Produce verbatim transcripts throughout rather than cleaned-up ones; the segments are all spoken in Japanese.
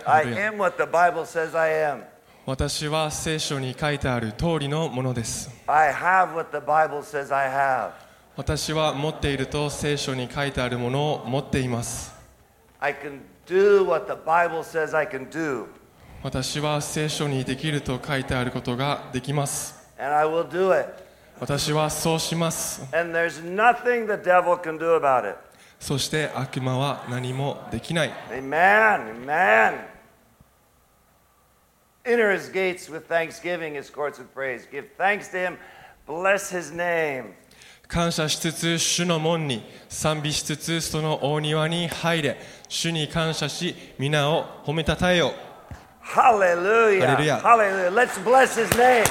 I am what the Bible says I am. 私は聖書に書いてある通りのものです。 I have what the Bible says I have. 私は持っていると聖書に書いてあるものを持っています。 I can do what the Bible says I can do. 私は聖書にできると書いてあることができます。 And I will do it. 私はそうします。 And there's nothing the devil can do about it. そして悪魔は何もできない。 Amen. Amen. Enter his gates with thanksgiving, his courts with praise. Give thanks to him. Bless his name. 感謝しつつ主の門に賛美しつつその大庭に入れ。主に感謝し皆を褒めたたえよ。 Hallelujah. Hallelujah. Hallelujah. Let's bless his name.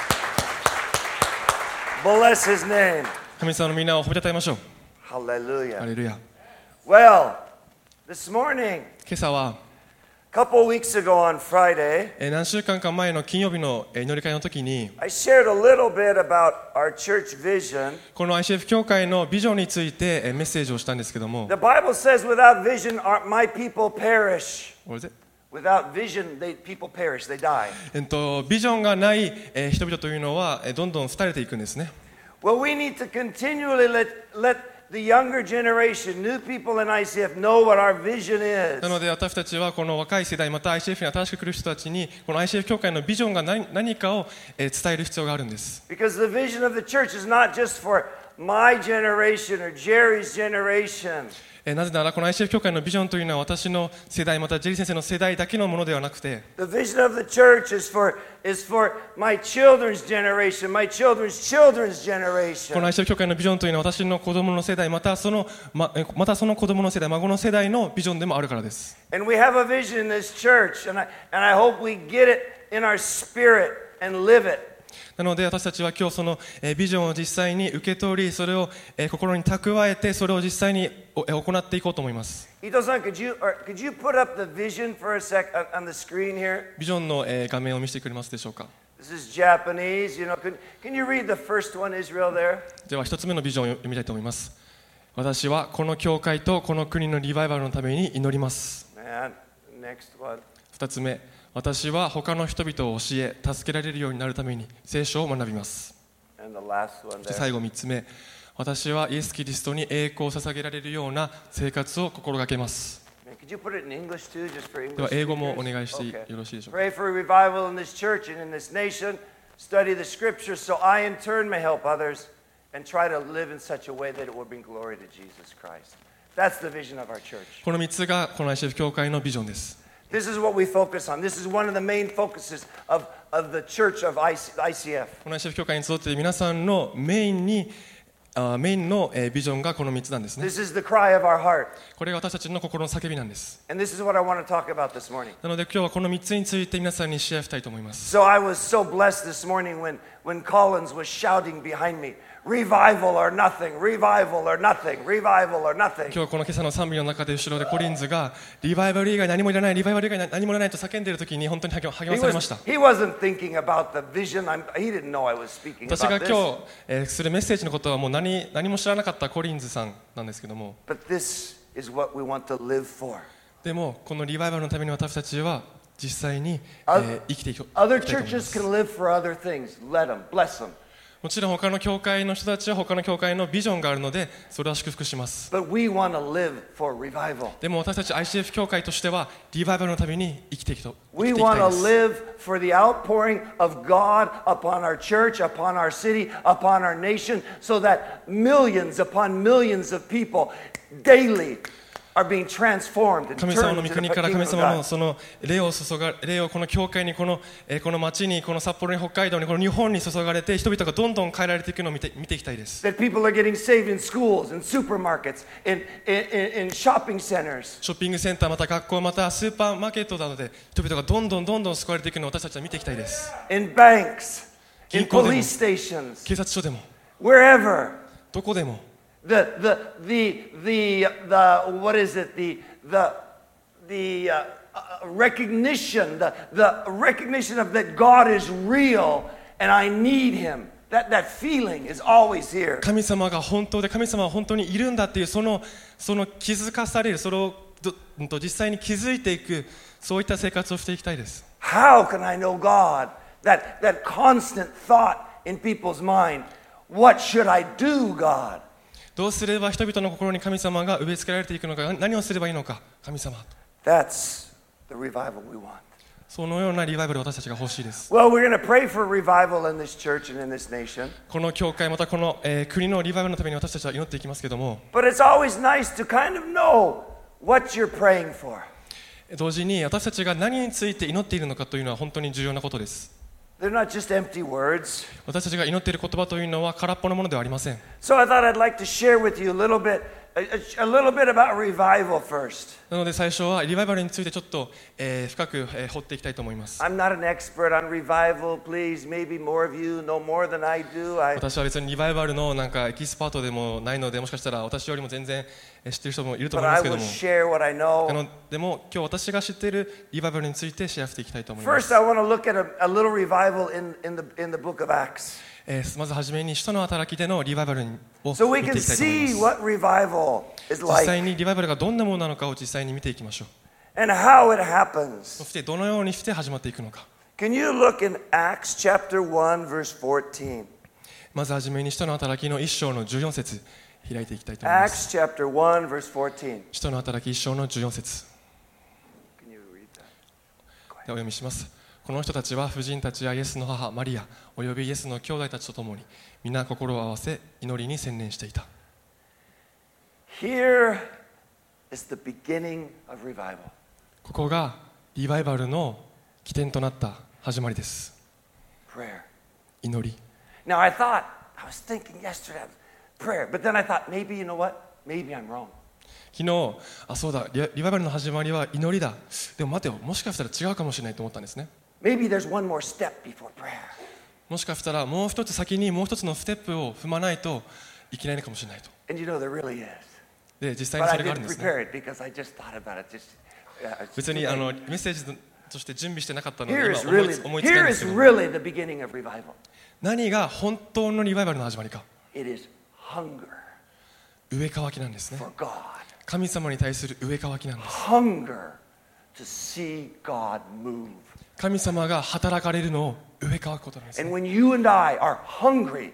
Bless his name. 神様の皆を褒めたたえましょう。 Hallelujah. ハレルヤ。 Well, this morning, 今朝は a couple weeks ago on Friday, えー何週間か前の金曜日のえー祈り会の時に I shared a little bit about our church vision. この アイシーエフ 教会のビジョンについてえーメッセージをしたんですけども The Bible says, without vision, our, my people perish. What is it? Without vision, they, people perish. They die. えっとビジョンがないえー人々というのはえーどんどん廃れていくんですね。 Well, we need to continually let, let the younger generation, new people in アイシーエフ, know what our vision is. なので私たちはこの若い世代また アイシーエフ に新しく来る人たちにこの アイシーエフ 教会のビジョンが何、何かをえー伝える必要があるんです。 Because the vision of the church is not just for my generation or Jerry's generation. えーなぜならこの アイシーエフ 教会のビジョンというのは私の世代またジェリー先生の世代だけのものではなくて The vision of the church is for, is for my children's generation, my children's children's この generation. アイシーエフ 教会のビジョンというのは私の子供の世代またそのままたその子供の世代孫の世代のビジョンでもあるからです。 And we have a vision in this church, and I, and I hope we get it in our spirit and live it. なので私たちは今日そのえービジョンを実際に受け取りそれをえー心に蓄えてそれを実際におえー行っていこうと思います。 Ito-san, could you, or could you put up the vision for a sec on, on the screen here? ビジョンのえー画面を見せてくれますでしょうか。 This is Japanese. You know, can, can you read the first one, Israel, there? では一つ目のビジョンを読みたいと思います。私はこの教会とこの国のリバイバルのために祈ります。 And next one. 二つ目、私は他の人々を教え助けられるようになるために聖書を学びます。 And the last one そして there. 最後三つ目、私はイエス・キリストに栄光を捧げられるような生活を心がけます。 And could you put it in English too, just for では English 英語もお speakers? 願いしてよ Okay. ろしいでしょうか。 Pray for a revival in this church and in this nation. Study the scriptures so I in turn may help others and try to live in such a way that it will bring glory to Jesus Christ. That's the vision of our church. この三つがこの アイシーエフ 教会のビジョンです。 This is what we focus on. This is one of the main focuses of, of the church of I C F. この アイシーエフ 教会に集っている皆さんのメインにあメインのえービジョンがこの三つなんですね。 This is the cry of our heart. これが私たちの心の叫びなんです。 And this is what I want to talk about this morning. なので今日はこの三つについて皆さんにシェアしたいと思います。 So I was so blessed this morning when, when Collins was shouting behind me, revival or nothing, revival or nothing, revival or nothing. 今日はこの今朝の賛美の中で後ろでコリンズがリバイバル以外何もいらない、リバイバル以外何もいらないと叫んでいるときに本当に励ま He, 励まされました was, he wasn't thinking about the vision. I'm, he didn't know I was speaking 私が about 今 this. 日、えーするメッセージのことはもう 何, 何も知らなかったコリンズさんなんですけども But this is what we want to live for. でもこのリバイバルのために私たちは実際に、え Other, ー生きていき other いきたいと思いま churches す can live for other things. Let them, bless them. もちろん他の教会の人たちは他の教会のビジョンがあるのでそれは祝福します But we want to live for revival. でも私たち アイシーエフ 教会としてはリバイバルのために生きていきと生 We きていきた want い to です live for the outpouring of God upon our church, upon our city, upon our nation, so that millions upon millions of people daily are being transformed and 神様 turned の to 御 the 国から kingdom 神 of 様の God. その霊を注が霊をこの教会にこの、えーこの町にこの札幌に北海道にこの日本に注がれて人々がどんどん変えられていくのを見て見ていきたいです。 That people are getting saved in schools, in supermarkets, in, in, in, in shopping centers. ショッピングセンターまた学校またスーパーマーケットなどで人々がどんどんどんどん救われていくのを私たちは見ていきたいです。 In banks, in 銀行でも police stations, 警察署でも wherever. どこでも The, the, the, the, the, what is it? The, the, the uh, uh, recognition, the, the recognition of that God is real and I need Him. That, that feeling is always here. 神様が本当で神様は本当にいるんだっていうそのその気づかされるそれをどうんと実際に気づいていくそういった生活をしていきたいです。 How can I know God? That, that constant thought in people's mind, what should I do, God? どうすれば人々の心に神様が植え付けられていくのか、何をすればいいのか、神様。 That's the revival we want. そのようなリバイバルを私たちが欲しいです。 Well, we're going to pray for revival in this church and in this nation. この教会またこの、えー、国のリバイバルのために私たちは祈っていきますけども、 But it's always nice to kind of know what you're praying for. 同時に私たちが何について祈っているのかというのは本当に重要なことです。 They're not just empty words. 私たちが祈っている言葉というのは空っぽのものではありません。 So I thought I'd like to share with you a little bit, a, a, a little bit about revival first. なので最初はリバイバルについてちょっと、えー、深く、えー、掘っていきたいと思います。 I'm not an expert on revival. Please, maybe more of you know more than I do. I, 私は別にリバイバルのなんかエキスパートでもないので、もしかしたら私よりも全然知っている人もいると but 思いま I すけど will も、 share what I あ know. のでも今日私が知っているリバイバルについてシェアしていきたいと思います。 First, I want to look at a, a little revival in, in, the, in the book of Acts. えー、まずはじめに使徒の働きでのリバイバルを So we 見て can いきたいと思い see ます。 what revival is 実際 like にリバイバルがどんなものなのかを実際に見ていきましょう。 and how it happens. そしてどのようにして始まっていくのか。 Can you look in Acts chapter one, verse fourteen? まずはじめに使徒の働きの一章のじゅうよん節開いていきたいと思います。 Acts chapter one, verse fourteen. 使徒の働き一章のじゅうよん節 Can you read that? ではお読みします。この人たちは婦人たちやイエスの母マリアおよびイエスの兄弟たちと共に皆心を合わせ祈りに専念していた。 Here is the beginning of revival. ここがリバイバルの起点となった始まりです。 Prayer. 祈り。 Now I thought, I was thinking yesterday, prayer, but then I thought, maybe, you know what? Maybe I'm wrong. 昨日、あ、そうだ、リリバイバルの始まりは祈りだ。でも待てよ、もしかしたら違うかもしれないと思ったんですね。 Maybe there's one more step before prayer. もしかしたらもう一つ先にもう一つのステップを踏まないといけないのかもしれないと。 And you know, there really is. で、実際に But そ I れがあるん didn't ですね。 prepare it because I just thought about it. Just, uh, 別にあのメッセージとして準備してなかったので Here 今 is 思い really, つ思いつけるん here で is すけど、 really the beginning of revival. 何が本当のリバイバルの始まりか。 It is hunger 植え替きなんですね。 for God. 神様に対する植え替きなんです。 Hunger to see God move. 神様が働かれるのを植え替くことなんです、ね。 And when you and I are hungry,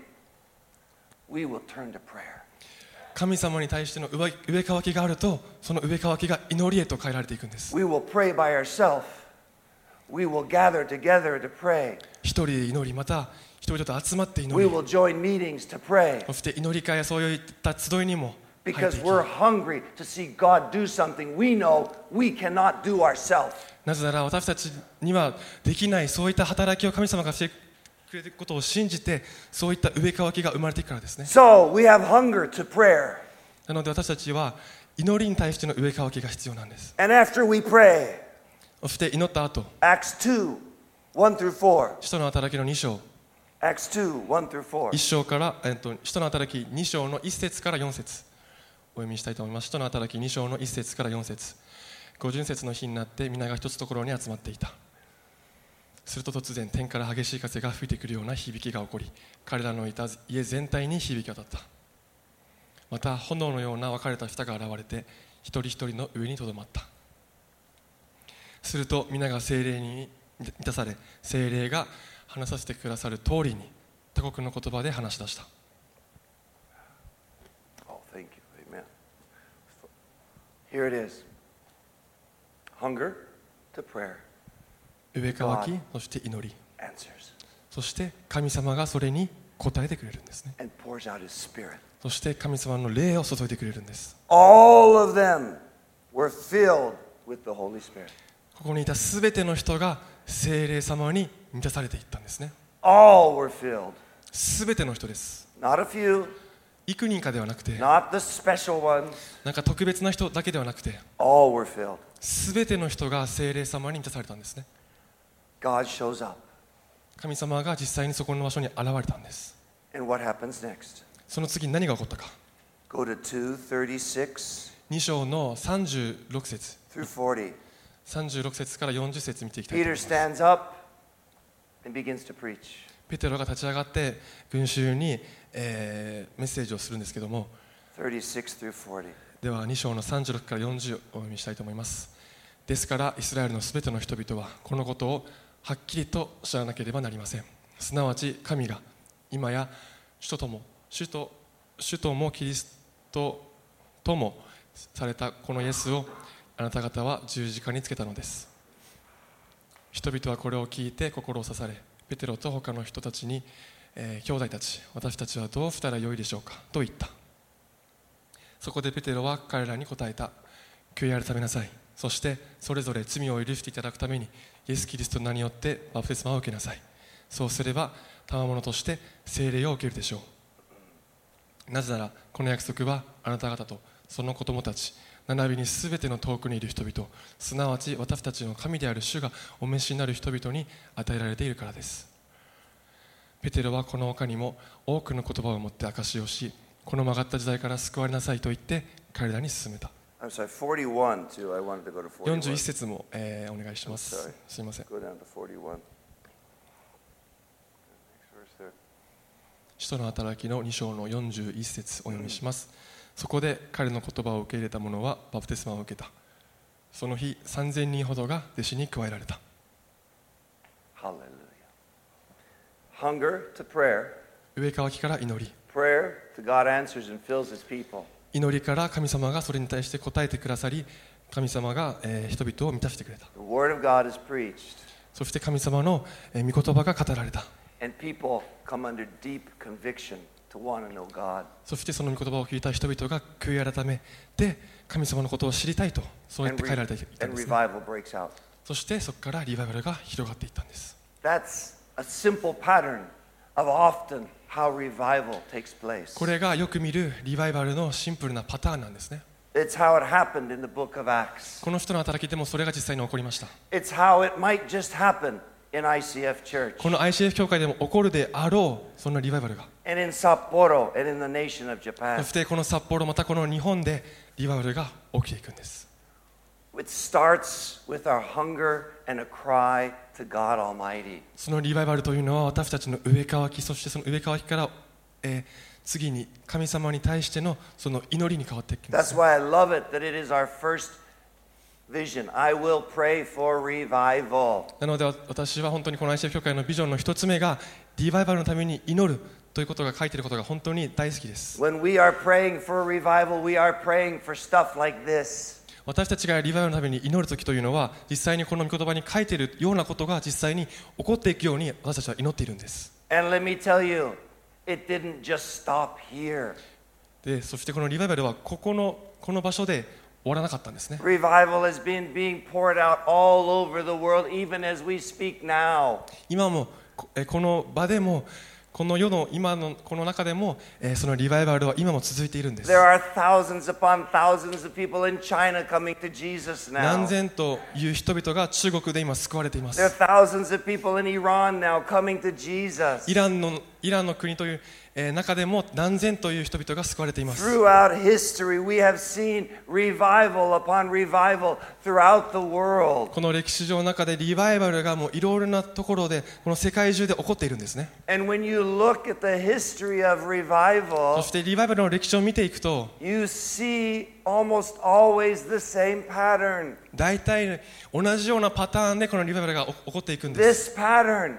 we will turn to prayer. 神様に対しての植え植え替きがあると、その植え替きが祈りへと変えられていくんです。 We will pray by ourselves. We will gather together to pray. 一人で祈り、また人々と集まって祈 We り、 will join meetings to pray そして祈り会やそういった集いにも入ってい because き、 we're hungry to see God do something we know we cannot do ourselves. なぜなら私たちにはできないそういった働きを神様がしてくれることを信じて、そういった植え替きが生まれていくからですね。 So we have hunger to prayer. なので私たちは祈りに対しての植え替きが必要なんです。 And after we pray, そして祈った後、 Acts two, one through four. 使徒の働きのに章、 Acts two, one through four. いち章から、えっと、使徒の働きに章のいち節からよん節お読みしたいと思います。使徒の働きに章のいち節からよん節。五巡節の日になって皆が一つところに集まっていた。すると突然天から激しい風が吹いてくるような響きが起こり、彼らのいた家全体に響き渡った。また炎のような分かれた舌が現れて一人一人の上にとどまった。すると皆が聖霊に満たされ、聖霊が話させてくださる通りに他国の言葉で話し出した。 Oh, thank you. Amen. Here it is. Hunger to prayer 植え替き、そして祈り、 answers そして神様がそれに応えてくれるんですね。 and pours out his spirit. そして神様の霊を注いでくれるんです。 All of them were filled with the Holy Spirit. ここにいたすべての人が聖霊様に満たされていったんですね。 All were filled. すべての人です。 Not a few, 幾人かではなくて、 not the special ones. なんか特別な人だけではなくて、 All were filled. すべての人が聖霊様に満たされたんですね。 God shows up. 神様が実際にそこの場所に現れたんです。 And what happens next? その次に何が起こったか。 Go to two thirty-six に章のさんじゅうろく節、 through forty. さんじゅうろく節からよんじゅう節見ていきたいと Peter 思います。 stands up and begins to preach. ペテロが立ち上がって群衆に、えーメッセージをするんですけども、 thirty-six through forty. ではに章のさんじゅうろくからよんじゅうをお読みしたいと思います。 ですからイスラエルのすべての人々はこのことをはっきりと知らなければなりません。すなわち神が今や主ととも主と主ともキリストともされたこのイエスをあなた方は十字架につけたのです。人々はこれを聞いて心を刺され、ペテロと他の人たちに、えー、兄弟たち、私たちはどうしたらよいでしょうかと言った。そこでペテロは彼らに答えた。悔い改めなさい。そしてそれぞれ罪を許していただくためにイエス・キリストの名によってバプテスマを受けなさい。そうすれば賜物として聖霊を受けるでしょう。なぜならこの約束はあなた方とその子供たち、並びにすべての遠くにいる人々、すなわち私たちの神である主がお召しになる人々に与えられているからです。ペテロはこの他にも多くの言葉を持って証しをし、この曲がった時代から救われなさいと言って彼らに勧めた。 I'm sorry, forty-one too. I wanted to go to forty-one. よんじゅういち節も、えー、お願いします。すみません。 Go down to forty-one. 使徒の働きのに章のよんじゅういち節お読みします。そこで彼の言葉を受け入れた者はバプテスマを受けた。その日さんぜんにんほどが弟子に加えられた。 Hallelujah. Hunger to prayer. 上乾きから祈り。 Prayer to God answers and fills His people. 祈りから神様がそれに対して答えてくださり、神様が、えー、人々を満たしてくれた。 The word of God is preached. そして神様の、えー、御言葉が語られた。 And people come under deep conviction to want to know God. そしてその御言葉を聞いた人々が悔い改めて神様のことを知りたいとそうやって変えられていたんです、ね。 And revival breaks out. そしてそこからリバイバルが広がっていったんです。 That's a simple pattern of often how revival takes place. これがよく見るリバイバルのシンプルなパターンなんですね。 It's how it happened in the book of Acts. この人の働きでもそれが実際に起こりました。 It's how it might just happen inアイシーエフ Church. この アイシーエフ 教会でも起こるであろうそんなリバイバルが。 And in Sapporo and in the nation of Japan. そしてこの札幌またこの日本でリバイバルが起きていくんです。 It starts with our hunger and a cry to God Almighty. そのリバイバルというのは私たちの上乾き、そしてその上乾きから、えー、次に神様に対してのその祈りに変わっていくんです。 That's why I love it that it is our first vision. I will pray for revival. なので私は本当にこの アイシーエフ 教会のビジョンの一つ目がリバイバルのために祈るということが書いていることが本当に大好きです。 When we are praying for revival, we are praying for stuff like this. 私たちがリバイバルのために祈るときというのは実際にこの御言葉に書いているようなことが実際に起こっていくように私たちは祈っているんです。 And let me tell you, it didn't just stop here. で、そしてこのリバイバルはここのこの場所で終わらなかったんですね。 Revival has been being poured out all over the world, even as we speak now. 今もこの場でもこの世の今のこの中でも、えー、そのリバイバルは今も続いているんです。 There are thousands upon thousands of people in China coming to Jesus now. 何千という人々が中国で今救われています。 There are thousands of people in Iran now coming to Jesus. イランのイランの国という、えー、中でも何千という人々が救われています。 Throughout history, we have seen revival upon revival throughout the world. この歴史上の中でリバイバルがもういろいろなところでこの世界中で起こっているんですね。 And when you look at the history of revival, そしてリバイバルの歴史を見ていくと、 you see almost always the same pattern. 大体同じようなパターンでこのリバイバルが起こっていくんです。 This pattern,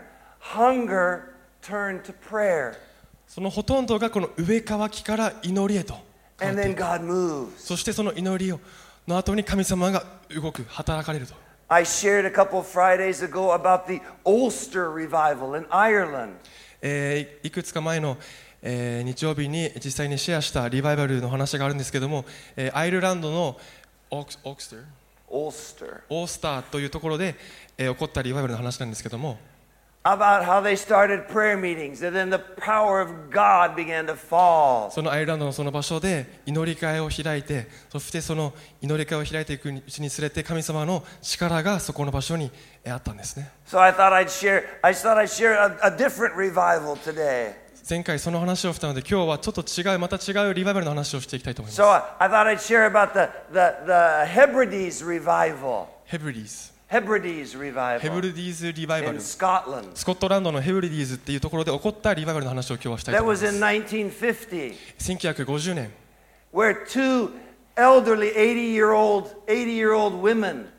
hunger turned to prayer. そのほとんどがこの上乾きから祈りへと変わっていく。 And then God moves. そしてその祈りをの後に神様が動く、働かれると。 I shared a couple of Fridays ago about the Ulster revival in Ireland. えー、いくつか前の、えー、日曜日に実際にシェアしたリバイバルの話があるんですけども、えー、アイルランドのオークスオークスターオースターオースターというところで、えー、起こったリバイバルの話なんですけども、 about how they started prayer meetings and then the power of God began to fall. そのアイルランドのその場所で祈り会を開いて、そしてその祈り会を開いていくうちにつれて神様の力がそこの場所にあったんですね。 So I thought I'd share I thought I'd share a, a different revival today. 前回その話をしたので今日はちょっと違うまた違うリバイバルの話をしていきたいと思います。 So I thought I'd share about the the the Hebrides revival. ヘブリディーズ Hebrides revival. ヘブリディーズリバイバル、 in Scotland. スコットランドのヘブリディーズっていうところで起こったリバイバルの話を今日はしたいと That 思いま was す。 in nineteen fifty. せんきゅうひゃくごじゅうねん Where two elderly eighty-year-old eighty-year-old women, Two?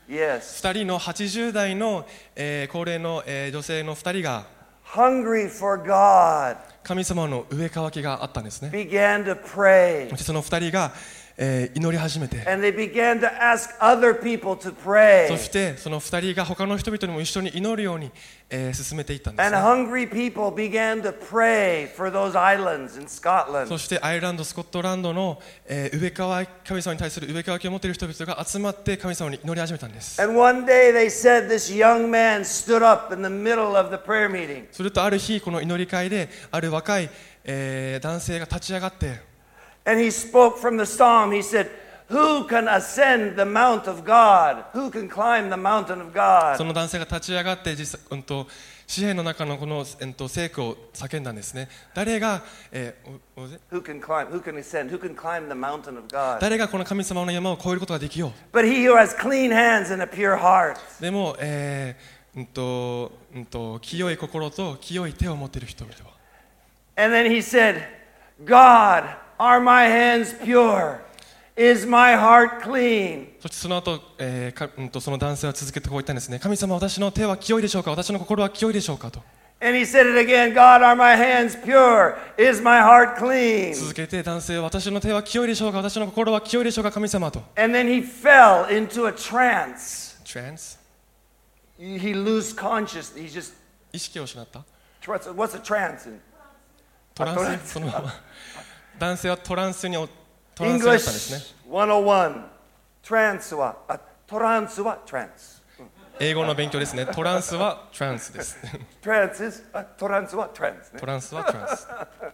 Yes. ふたりのはちじゅう代の、えー高齢の、えー女性のふたりが hungry for God, 神様の上渇きがあったんですね。 began to pray. そしてそのふたりが、えー祈り始めて、 And they began to ask other people to pray. そしてそのふたりが他の人々にも一緒に祈るように、えー進めていったんです And ね。 hungry people began to pray for those islands in そ Scotland. してアイルランド、スコットランドの、えー上渇き、神様に対する上渇きを持っている人々が集まって神様に祈り始めたんです。 And one day they said this young man stood up in the middle of the prayer meeting. するとある日この祈り会である若い、えー男性が立ち上がって、 And he spoke from the psalm. He said, Who can ascend the mount of God? Who can climb the mountain of そ God? の男性が立ち上がって実際、うん、と詩篇の中のこの、うん、と聖句を叫んだんですね。誰が、えーおおぜ Who can climb? Who can ascend? Who can climb the mountain of God? 誰がこの神様の山を越えることができよ But he who has clean hands and a pure heart. う。でも、えーうんとうん、と清い心と清い手を持っている人々は。 And then he said, God, are my hands pure? Is my heart clean? そしてその後、えーかうん、とその男性は続けてこう言ったんですね。神様、私の手は清いでしょうか、私の心は清いでしょうかと And he said it again, God, are my hands pure? Is my heart clean? 続けて男性は私の手は清いでしょうか、私の心は清いでしょうか、神様と And then he fell into a trance. Trance He he lost consciousness. He just, 意識を失った what's a, what's a trance? In? トランあトランススそのまま男性はトランスにおトランスになったんですね。 English ひゃくいち。トランスは、あ、トランスはトランス。 英語の勉強ですね。トランスはトランスです。 トランス is あトランスはトランスね。 トランスはトランス。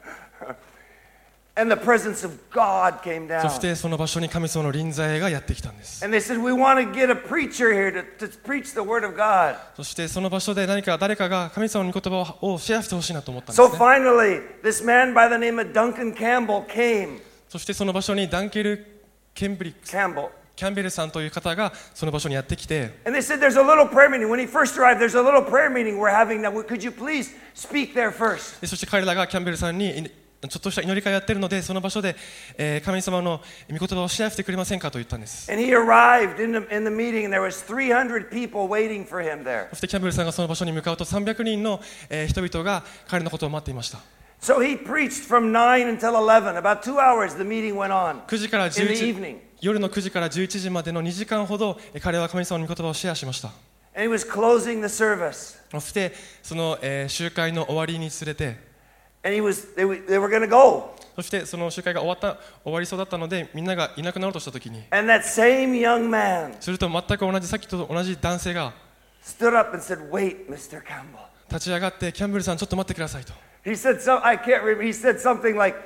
And the presence of God came そ down. してその場所に神様の臨在がやってきたんです。 And they said, we want to get a preacher here to, to preach the word of God. そしてその場所で何か誰かが神様の御言葉をシェアしてほしいなと思ったんで So すね。 finally, this man by the name of Duncan Campbell came. そしてその場所にダンケル・ケンブリックス Campbell. キャンベルさんという方がその場所にやってきて、 And they said, there's a little prayer meeting. When he first arrived, there's a little prayer meeting we're having now. Could you please speak there first? でそして彼らがキャンベルさんにちょっとした祈り会をやってるので、その場所で、えー神様の御言葉をシェアしてくれませんかと言ったんです。 And he arrived in the, in the meeting, and there was three hundred people waiting for him there. そしてキャンベルさんがその場所に向かうとさんびゃくにんの、えー人々が彼のことを待っていました。 So he preached from nine until eleven. About two hours the meeting went on くじから in 11 the 時 evening. 夜のくじからじゅういちじまでのにじかんほどえー彼は神様の御言葉をシェアしました。 And he was closing the service. そしてその、えー集会の終わりにつれて、 And he was, they, were- they were going to go. そしてその集会が終わった終わりそうだったので、みんながいなくなろうとしたときに、 And that same young man すると全く同じさっきと同じ男性が stood up and said, Wait, Mister Campbell. 立ち上がって、キャンベルさんちょっと待ってくださいと。 He said, so, I can't remember. He said something like,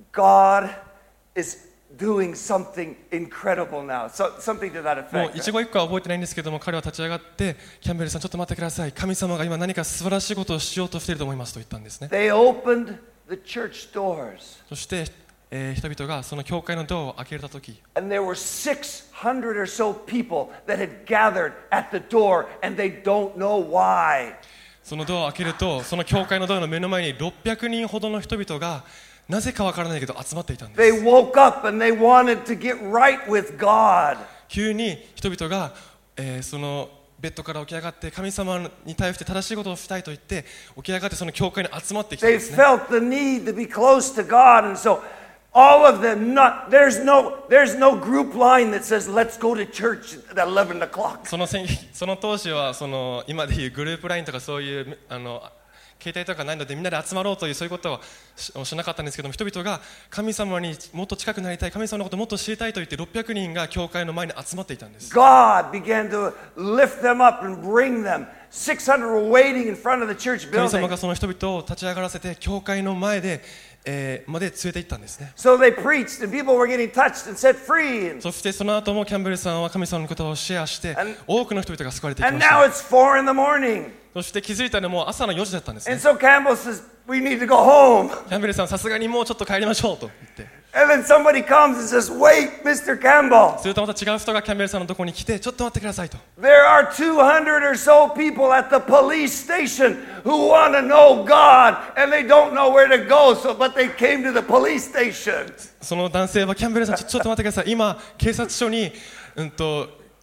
God is doing something incredible now. So, something to that もう effect. 一語一句は覚えてないんですけども、彼は立ち上がってキャンベルさんちょっと待ってください、神様が今何か素晴らしいことをしようとしていると思いますと言ったんですね。 They opened the church doors. そして、えー人々がその教会のドアを開けたとき、 And there were six hundred or so people that had gathered at the door, and they don't know why. そのドアを開けると、その教会のドアの目の前にろっぴゃくにんほどの人々がなぜかわからないけど集まっていたんで They す。 woke up and they wanted to get right with God. 急に人々が、えーそのベッドから起き上がって神様に対して正しいことをしたいと言って起き上がってその教会に集まってきたん They ですね。 felt the need to be close to God, and so all of them, not there's no there's no group line that says let's go to church at eleven o'clock. そのせんその当時はその今でいうグループラインとかそういうあの携帯とかないのでみんなで集まろうというそういうことは し, しなかったんですけども、人々が神様にもっと近くなりたい、神様のことをもっと知りたいと言ってろっぴゃくにんが教会の前に集まっていたんです。 God began to lift them up and bring them. six hundred were waiting in front of the church 神様 building. がその人々を立ち上がらせて教会の前で、えーまで連れて行ったんですね。 So they preached, and people were getting touched and set free. And, そしてその後もキャンベルさんは神様のことをシェアして And- 多くの人々が救われていき and まし now た。 it's four in the morning. そして気づいたらもう朝のよじだったんです And ね。 so Campbell says, we need to go home. キャンベルさんさすがにもうちょっと帰りましょうと言って、 And then somebody comes and says, wait, Mister Campbell. するとまた違う人がキャンベルさんのところに来て、ちょっと待ってくださいと。 There are two hundred or so people at the police station who want to know God, and they don't know where to go, so but they came to the police station. その男性はキャンベルさんちょ、ちょっと待ってください、今警察署に、うん、と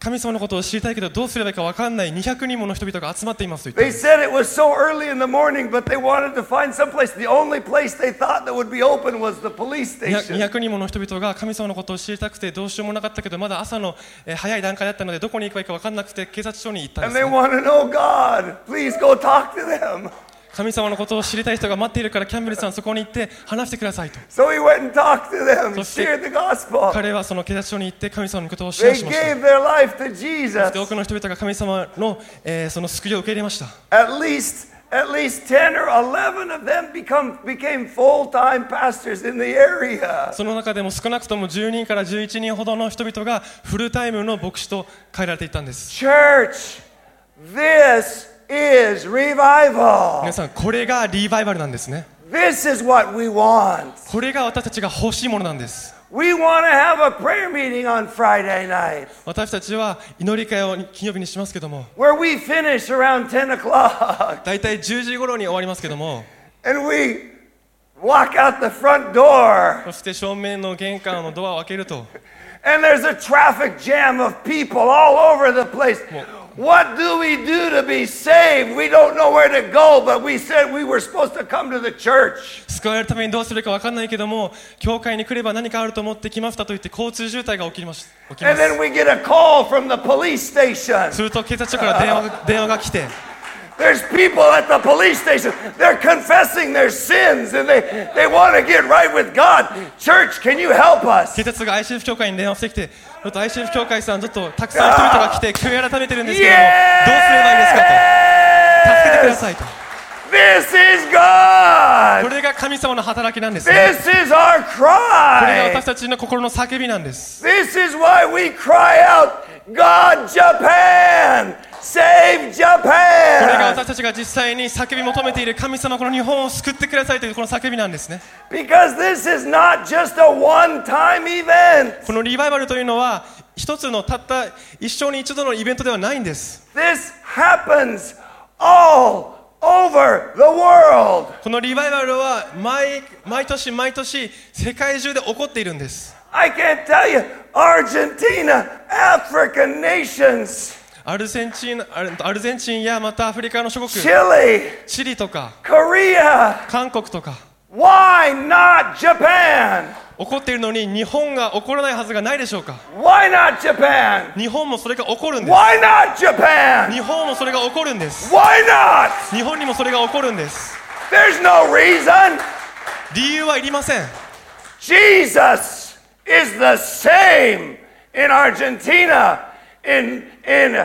神様のことを知りたいけどどうすればいいか分かんないにひゃくにんもの人々が集まっていますと言っ They た。 said it was so early in the morning, but they wanted to find some place. The only place they thought that would be open was the police にひゃく にひ station. ゃくにんもの人々が神様のことを知りたくてどうしようもなかったけどまだ朝の、えー早い段階だったのでどこに行けばいいか分かんなくて警察署に行ったん And で they す、ね、 want to know God. Please go talk to them. 神様のことを知りたい人が待っているからキャンベルさんそこに行って話してくださいと。 So he went and talked to them, そして shared the gospel. 彼はその警察署に行って神様のことをシェア They しました。 gave their life to そ Jesus. して多くの人々が神様の、えーその救いを受け入れました。 At least, at least ten or eleven of them become became full-time pastors in the area. その中でも少なくともじゅうにんからじゅういちにんほどの人々がフルタイムの牧師と変えられていったんです。 Church, this is revival. 皆さんこれがリバイバルなんですね。 This is what we want. これが私たちが欲しいものなんです。 We want to have a prayer meeting on Friday night 私たちは祈り会を金曜日にしますけども where we finish around ten o'clock だいたいじゅうじ頃に終わりますけども and we walk out the front door そして正面の玄関のドアを開けると and there's a traffic jam of people all over the place. What do we do to be saved? We don't know where to go, but we said we were supposed to come to the church. 救われるためにどうするか分かんないけども教会に来れば何かあると思って来ましたと言って交通渋滞が起きます。起きま And す then we get a call from the police station. すると警察署から電話が電話が来て There's people at the police station. They're confessing their sins and they, they want to get right with God. Church, can you help us? 警察が アイシーエフ 教会に電話してきてちょっと アイシーエフ 教会さんちょっとたくさん人々が来て悔い改めてるんですけどもどうすればいいですかと助けてくだ Yes! さいと This is こ God. れが神様の働きなんですね。 This is our これが cry. 私たちの心の叫びなんです。 This is why we cry out, God Japan! Save これが Japan! 私たちが実際に叫び求めている神様この日本を救ってくださいというこの叫びなんですね。 Because this is not just a one-time event. このリバイバルというのは一つのたった一生に一度のイベントではないんです。 This happens all over the world. このリバイバルは 毎, 毎年毎年世界中で起こっているんです。 I can't tell you, Argentina, African nations, アルゼンチン、アルアルゼンチンやまたアフリカの諸国 Chile, チリとか Korea. 韓国とか Why not Japan? 起こっているのに日本が起こらないはずがないでしょうか。 Why not Japan? 日本もそれが起こるんです。 Why not Japan? 日本もそれが起こるんです。 Why not? 日本にもそれが起こるんです。 There's no reason. 理由はいりません。 Jesus is the same in Argentina, in, in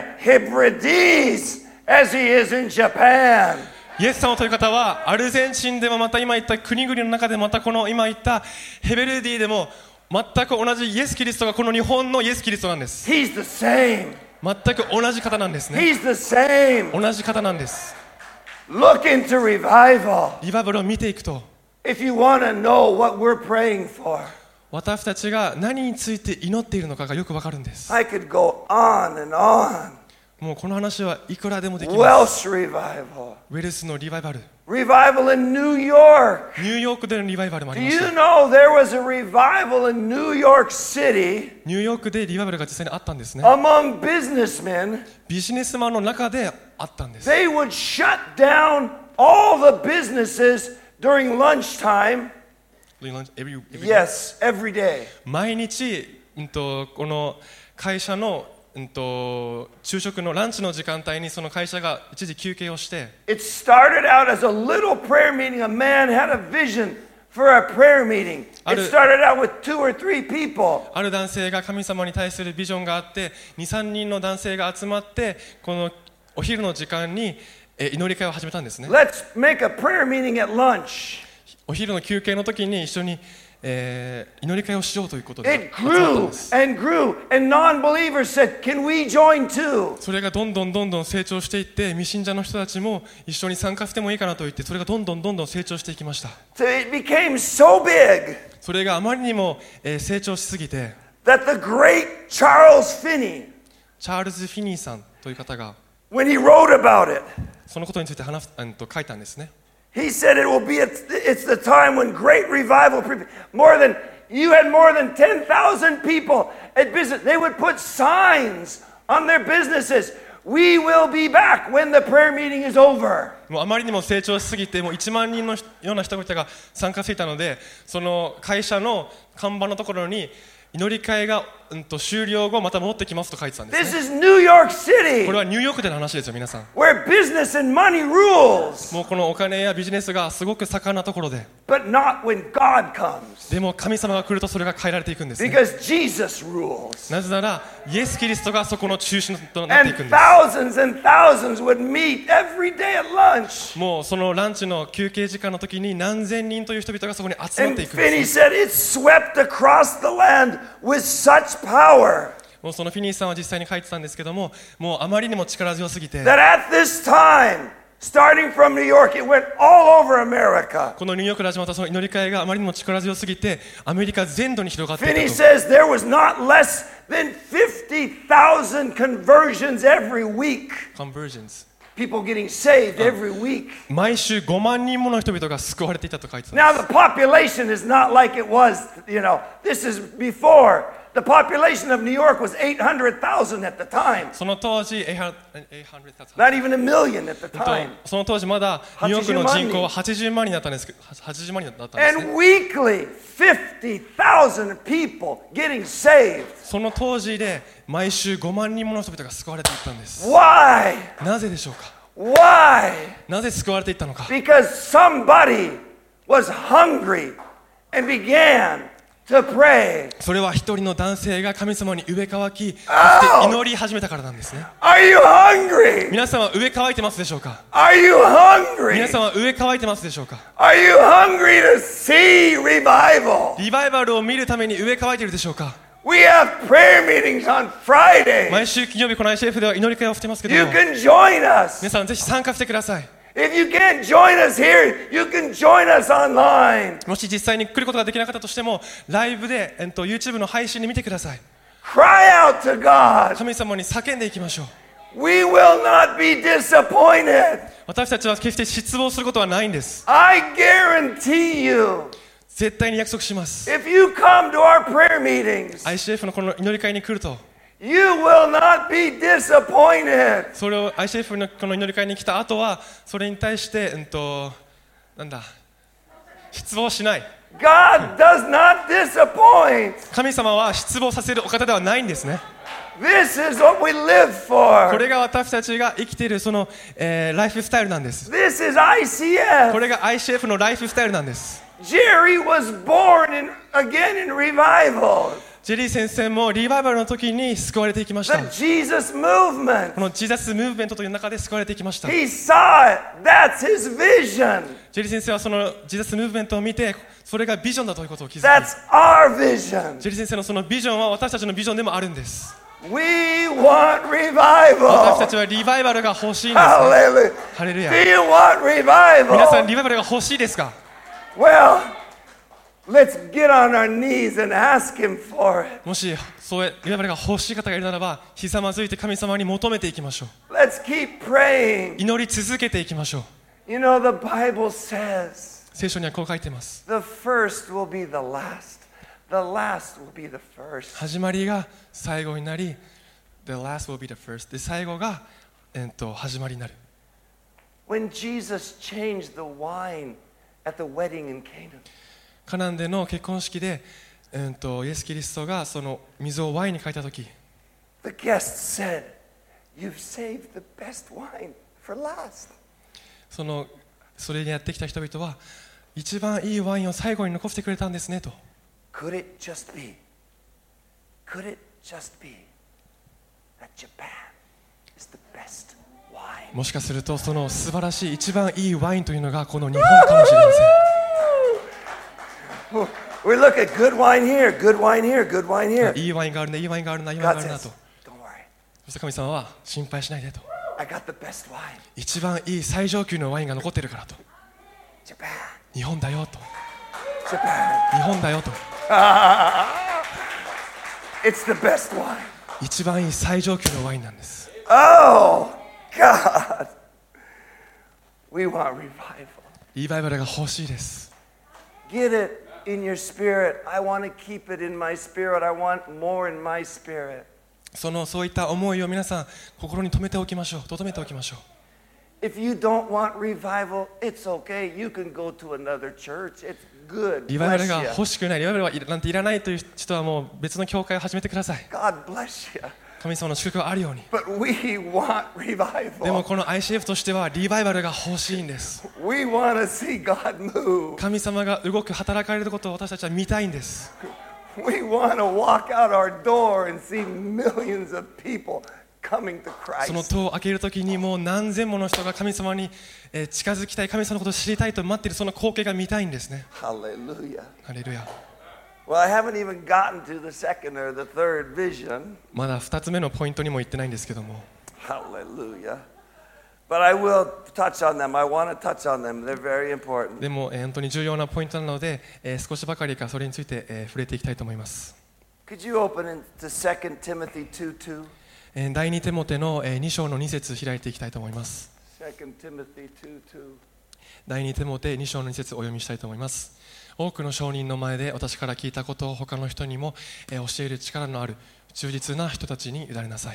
Hebrides, as he is in Japan. イエス様という方はアルゼンチンでもまた今言った国々の中でまたこの今言ったヘベルディでも全く同じイエス・キリストがこの日本のイエス・キリストなんです。 He's the same. 全く同じ方なんですね。 He's the same. 同じ方なんです。 Look into revival. リバイバルを見ていくと If you want to know what we're praying for, 私たちが何について祈っているのかがよくわかるんです。 I could go on and on. もうこの話はいくらでもできます。 Welsh revival. ウェルスのリバイバル、 Revival in New York. ニューヨークでのリバイバルもあ Do りまし you た。 know there was a revival in New York City ニューヨークでリバイバルが実際にあったんですね。 among businessmen? ビジネスマンの中であったんです。 They would shut down all the businesses during lunchtime. Every- every- Yes, every day. 毎日、うんと、この会社の、うんと、昼食のランチの時間帯にその会社が一時休憩をして、 It started out as a little prayer meeting. A man had a vision for a prayer meeting. It Are- started out with two or three people. ある男性が神様に対するビジョンがあって、に、さんにんの男性が集まってこのお昼の時間にえ祈り会を始めたんですね。 Let's make a prayer meeting at lunch. お昼の休憩の時に一緒に、えー祈り会をしようということで It 集まったん grew です。 and grew, and non-believers said, "Can we join too?" それがどんどんどんどん成長していって未信者の人たちも一緒に参加してもいいかなと言ってそれがどんどんどんどん成長していきました。 So it became so big それがあまりにも、えー成長しすぎて that the great Charles Finney, チャールズ・フィニーさんという方が when he wrote about it, そのことについて話すあのと書いたんですね。 he said it will be at, it's the time when great revival, more than you had more than ten thousand people at business. They would put signs on their businesses. We will be back when the prayer meeting is over. もうあまりにも成長しすぎて、もういちまん人のような人々が参加していたので、その会社の看板のところに祈り会が、うん、と終了後また戻ってきますと書いてたんです This ね。 is New York City, これはニューヨークでの話ですよ皆さん。 where business and money rules. もうこのお金やビジネスがすごく盛んなところで、 But not when God comes. でも神様が来るとそれが変えられていくんですね。 Because Jesus rules. なぜならイエス・キリストがそこの中心となってい And くんです。 thousands and thousands would meet every day at lunch. もうそのランチの休憩時間の時に何千人という人々がそこに集まっ And ていくんで Finney す。 said it swept across the land with such power もうそのフィニーさんは実際に書いてたんですけども、もうあまりにも力強すぎて、 that at this time, starting from New York, it went all over America. このニューヨークで始まったその祈り会があまりにも力強すぎて、アメリカ全土に広がってい Finney たと。 says there was not less than fifty thousand conversions every week. Conversions。 People getting saved every week. 毎週ごまん人もの人々が救われていたと書いてたん Now です。 the population is not like it was, you know, this is before. The population of New York was eight hundred thousand at the time. その当時、はっぴゃく Not even a million at the と time. その当時まだニューヨークの人口ははちじゅうまん人だったんですけど、はちじゅうまん人だったんですね。 And weekly, fifty thousand people getting saved. その当時で毎週ごまん人もの人々が救われていったんです。 Why? なぜでしょうか。 Why? なぜ救われていったのか。 Because somebody was hungry and began to pray. それは一人の男性が神様に飢え渇き、そして祈り始めたからなんですね。 Are you hungry? 皆さんは飢え渇いてますでしょうか。 Are you 皆 hungry? さんは飢え渇いてますでしょうか。 Are you hungry to see revival? リバイバルを見るために飢え渇いているでしょうか。 We have prayer meetings on Friday. 毎週金曜日この アイシーエフ では祈り会をしてますけど You も、 can join us. 皆さんぜひ参加してください。 If you can't join us here, you can join us online. もし実際に来ることができなかったとしても、ライブで、えっと、YouTube の配信で見てください。 Cry out to God. 神様に叫んでいきましょう。 We will not be disappointed. 私たちは決して失望することはないんです。 I guarantee you, 絶対に約束します。 if you come to our prayer meetings, アイシーエフ のこの祈り会に来ると、 you will not be disappointed. それを アイシーエフ のこの祈り会に来た後は、それに対して、うんと、なんだ、失望しない。 God does not disappoint. 神様は失望させるお方ではないんですね。 This is what we live こ for. れが私たちが生きているその、えーライフスタイルなんです。 This is I C こ F. れが アイシーエフ のライフスタイルなんです。 Jerry was born in, again in revival. ジェリー先生もリバイバルの時に救われていきました。 The Jesus movement. このジーザスムーブメントという中で救われていきました。ジ He saw it. That's his vision. ェリー先生はそのジーザスムーブメントを見て、それがビジョンだということを気づき、 That's our vision. ジェリー先生のそのビジョンは私たちのビジョンでもあるんです。 We want 私た revival. ちはリバイバルが欲しいんです、ね。 Hallelujah. ハレルヤ。 Do you want 皆さん revival? リバイバルが欲しいですか。 Well, let's get on our knees and ask him for it. もしそういうリバイバルが欲しい方がいるならば、ひざまずいて神様に求めていきましょう。 Let's keep praying. 祈り続けていきましょう。 You know, the Bible says 聖書にはこう書いています。 the first will be the last. The last will be the first. 始まりが最後になり、The last will be the first. で、最後が、えっと、始まりになる。 When Jesus changed the wine at the wedding in Canaan, カナンでの結婚式で、えっと、イエス・キリストがその水をワインに変えたとき、 the guests said, "You've saved the best wine for last." そのそれにやってきた人々は、一番いいワインを最後に残してくれたんですねと。 Could it just be? Could it just be that Japan is the best wine? もしかすると、その素晴らしい一番いいワインというのがこの日本かもしれません。 We look at good wine here, good wine here, good wine here. いいワインがあるね、いいワインがあるな、いいワイン God があるな says, と。 "Don't worry, そして神様は心配しないでと。 I got the best wine. 一番いい最上級のワインが残ってるからと。 Japan, 日本だよと。 Japan. 日本だよと。 It's the best wine." 一番いい最上級のワインなんです。 Oh, God. We want revival. リバイバルが欲しいです。 Get it in your spirit. I want to keep it in my spirit. I want more in my spirit. そのそういった思いを皆さん心に留めておきましょう。留めておきましょう。 If you don't want revival, it's okay. You can go to another church. It's good. リバイバル Bless が you. 欲しくない、リバイバルはいらなんていらないという人はもう別の教会を始めてください。 God bless you. 神様の祝福があるように。 But we want でも revival. この アイシーエフ としてはリバイバルが欲しいんです。 We want to see God move. 神様が動く、働かれることを私たちは見たいんです。 We want to walk out our door and see millions of people coming to その Christ. 戸を開けるときにもう何千もの人が神様にえー近づきたい、神様のことを知りたいと待っている、その光景が見たいんですね。 Hallelujah. ハレルヤ。 Well, I haven't even gotten to the second or the third vision. まだふたつめのポイントにも言ってないんですけども、 Hallelujah. But I will touch on them. I want to touch on them. They're very important. でも、えー本当に重要なポイントなので、えー少しばかりかそれについて、えー触れていきたいと思います。 Could you open into Second Timothy two two? えー第二テモテの、えーに章のに節開いていきたいと思います。 Second Timothy two two. 第二テモテに章のに節お読みしたいと思います。多くの証人の前で私から聞いたことを他の人にも、えー教える力のある忠実な人たちに委ねなさい。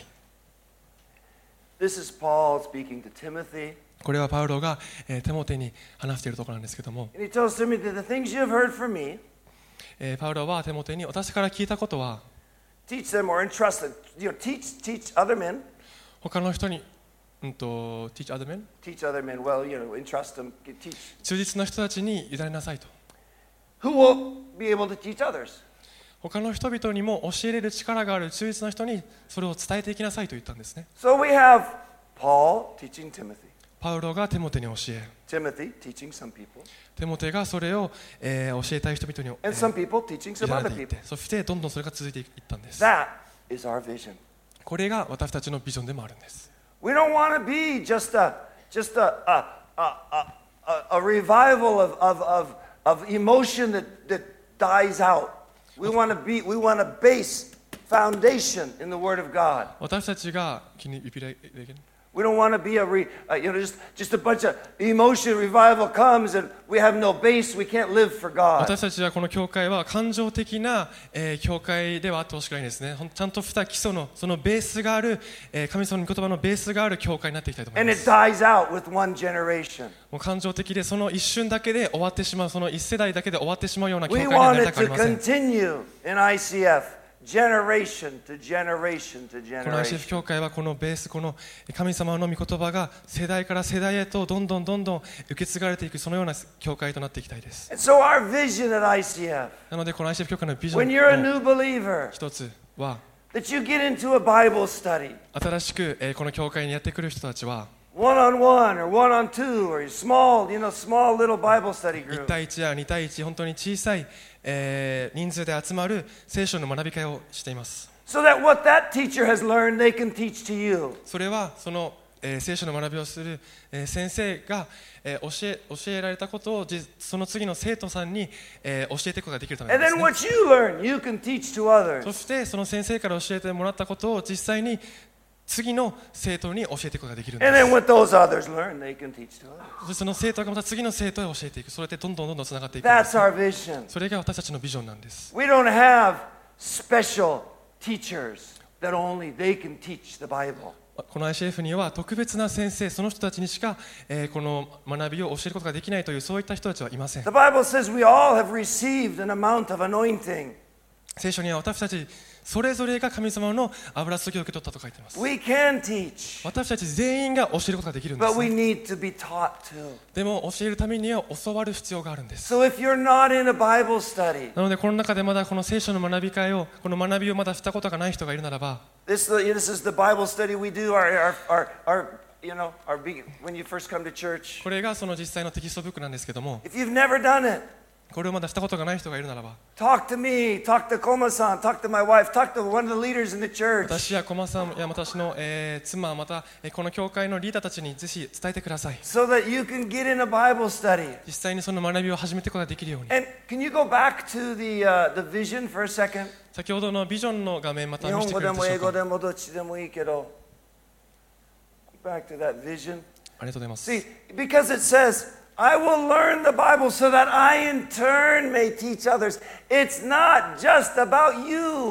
This is Paul speaking to Timothy. これはパウロが、えーテモテに話しているところなんですけども、 And he tells Timothy, the things you have heard from me, えーパウロはテモテに私から聞いたことは teach them or entrust them. You know, teach, teach other men. 他の人に、うんと、teach other men? Teach other men. Well, you know, entrust them. Teach. 忠実な人たちに委ねなさいと。 Who will be able to teach others? 他の人々にも教えれる力がある忠実な人にそれを伝えていきなさいと言ったんですね。 So we have Paul teaching Timothy. パウロがテモテに教え、 Timothy teaching some people. テモテがそれを、えー教えたい人々に、え And some ー people teaching 委 some ね other ていっ people. て、そしてどんどんそれが続いていったんです。 That is our vision. これが私たちのビジョンでもあるんです。 We don't want to be just a just a a a, a, a, a revival of, of, of, of emotion that, that dies out. We want to be we want a base foundation in the Word of God. 私たちが、Can you repeat that again? We don't want to be a re, uh, you know just just a bunch of emotion. Revival comes and we have no base. We can't live for God. 私たちはこの教会は感情的な、えー教会ではあってほしくないんですね。ほんちゃんとした基礎のそのベースがある、えー神様の御言葉のベースがある教会になっていきたいと思い And ま it す。 dies out with one generation. もう感情的でその一瞬だけで終わってしまう、その一世代だけで終わってしまうような教会 We にな want り it たくあり to ません。 continue in I C F, generation to generation to この アイシーエフ 教 generation. 会はこのベース、この神様の御言葉が世代から世代へとどんどんどんどん受け継がれていく、そのような教会となっていきたいです。 And so our vision at I C F, なのでこの アイシーエフ 教会のビジョ when you're a ンの new believer, 一つは、 that you get into a Bible study, 新しくえーこの教会にやってくる人たちは one on one or one on two or small, you know, small little Bible study いち group. 対いちやに対いち、本当に小さい、えー人数で集まる聖書の学び会をしています。 So that what that teacher has learned, they can teach to you. それはその、えー聖書の学びをする、えー先生が、えー教え教えられたことをじその次の生徒さんに、えー教えていくことができるためなん And です then ね。 what you learn, you can teach to others. そしてその先生から教えてもらったことを実際に次の生徒に教えていくことができるんで And す。 then what those others learn, they can teach to others. そしてその生徒がまた次の生徒へ教えていく、それでどんどんどんどんつながっていくんで That's す。 our vision. それが私たちのビジョンなんです。 We don't have special teachers that only they can teach the Bible. この アイシーエフ には特別な先生、その人たちにしか、えーこの学びを教えることができないというそういった人たちはいません。 The Bible says we all have received an amount of anointing. 聖書には私たちそれぞれが神様の油注ぎを受け取ったと書いています。 We can teach, 私たち全員が教えることができるんで but す we ね。 need to be taught too. でも教えるためには教わる必要があるんです。 So if you're not in a Bible study, なのでこの中でまだこの聖書の学び会をこの学びをまだしたことがない人がいるならば、 this, this is the Bible study we do our, our, our, our you know, our big, when you first come to church. これがその実際のテキストブックなんですけども、 If you've never done it, これをまだしたことがない人がいるならば、 talk to me, talk to Koma-san, talk to my wife, talk to one of the leaders in the church. 私や駒さんや私の、えー妻、また、えーこの教会のリーダーたちにぜひ伝えてください。 So that you can get in a Bible study. 実際にその学びを始めていくことができるように。 And can you go back to the, uh, the vision for a second? 先ほどのビジョンの画面また日見せ本語てくれるでしょうか。 でも英語でもどっちでもいいけど。Back to that vision. ありがとうございます。 See, because it says, I will learn the Bible so that I in turn may teach others. It's not just about you.